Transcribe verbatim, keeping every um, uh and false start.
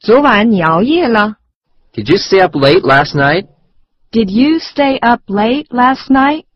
昨晚你熬夜了 Did you stay up late last night? Did you stay up late last night?